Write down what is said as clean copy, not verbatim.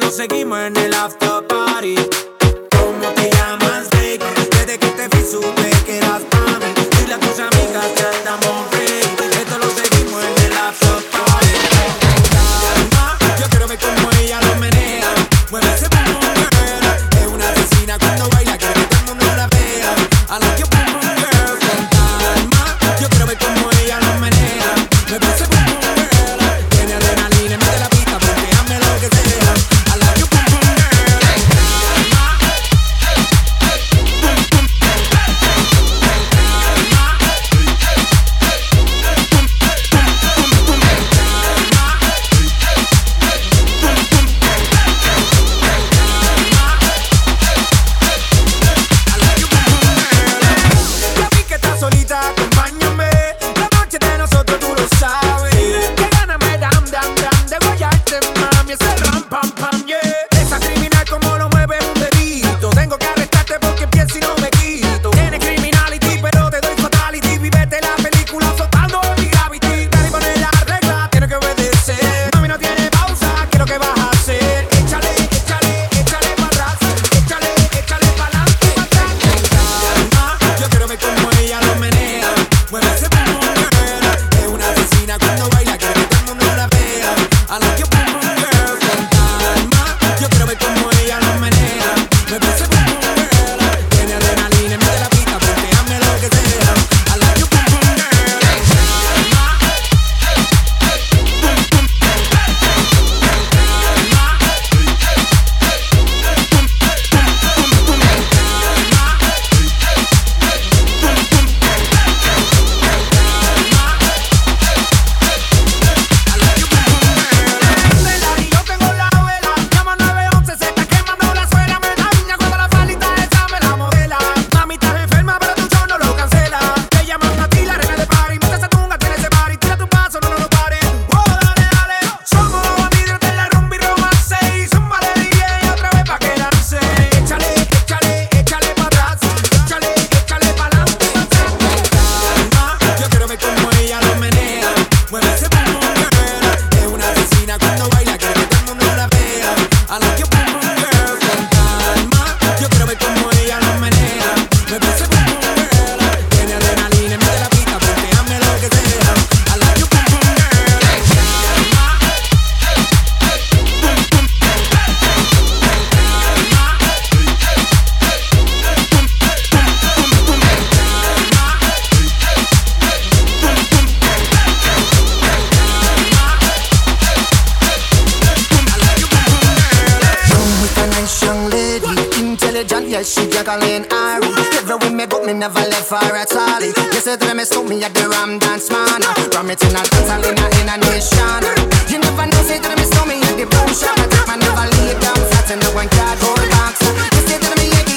seguimos en el after party. ¿Cómo te llamas, baby? Desde que te vi supe que eras pa' mí. Dile a tus amigas que andamos free. Esto lo seguimos en el after party. Calma, yo quiero ver cómo ella lo menea. Mueve ese boom boom girl. Es una asesina cuando baila, quiere que todo el mundo la vea. I like your boom boom girl. Con calma, yo quiero ver cómo ella lo menea. Mueve ese boom boom girl. Tiene adrenalina en medio de la pista porque hazme lo que sea. I like your boom boom girl. Ya vi que estás solita, acompáñame. La noche de nosotros tú lo sabes. Que gana me dan de guayarte, mami. Ese ram, pam, pam, yeah. Esa criminal como lo mueve un dedito. Tengo que arrestarte porque pienso y no me quito. Tienes criminality, pero te doy fatality. Vívete la película soltando mi gravity. Dale y poner la regla, tienes que obedecer. Mami, no tiene pausa, ¿qué es lo que vas a hacer? Échale, échale, échale para atrás. Échale, échale para adelante, para atrás. Calma, yo quiero ver cómo ella lo menea. Mueve ese boom boom girl. Es una asesina cuando baila, quiere que todo el mundo la vea. I like your boom boom girl. Con calma, yo quiero ver cómo ella lo menea. Mueve ese boom boom girl. Tiene adrenalina en medio de la pista porque hazme lo que sea. I like your boom boom girl. Y yo tengo la vela, llama 911, se está quemando la suela. Me da niña cuando la falita esa me la modela. Mami, estás enferma, pero tu show no lo cancela. Te llaman a ti, la reina de party. Mientras se tunga, tiene ese party. Tira tu paso, no lo pares. Oh, dale, dale. Somos los bandidos de la rumba y romance. Y zúmbale, DJ, otra vez pa' quedarse. Échale, échale, échale pa' atrás. Échale, échale pa' adelante, pa' atrás. Calma, yo quiero ver cómo ella lo menea. Mueve ese boom boom girl. Es una asesina cuando baila, quiere que todo el mundo la vea. I like your boom boom girl. Con calma, yo quiero ver cómo ella lo menea. Mueve ese boom boom girl. Tiene adrenalina en medio de la pista porque hazme lo que sea. I like your boom boom girl. With a nice young lady, intelligent, yes, she Jacqueline Ari. Every way me go, me never left for at all. You said that me stop me at the Ram Dance Man. Ram it in a dance hall in a nation. You never know, say that me stop me at the boom shop. I take my never lay down flat in the one cardboard box. You say that me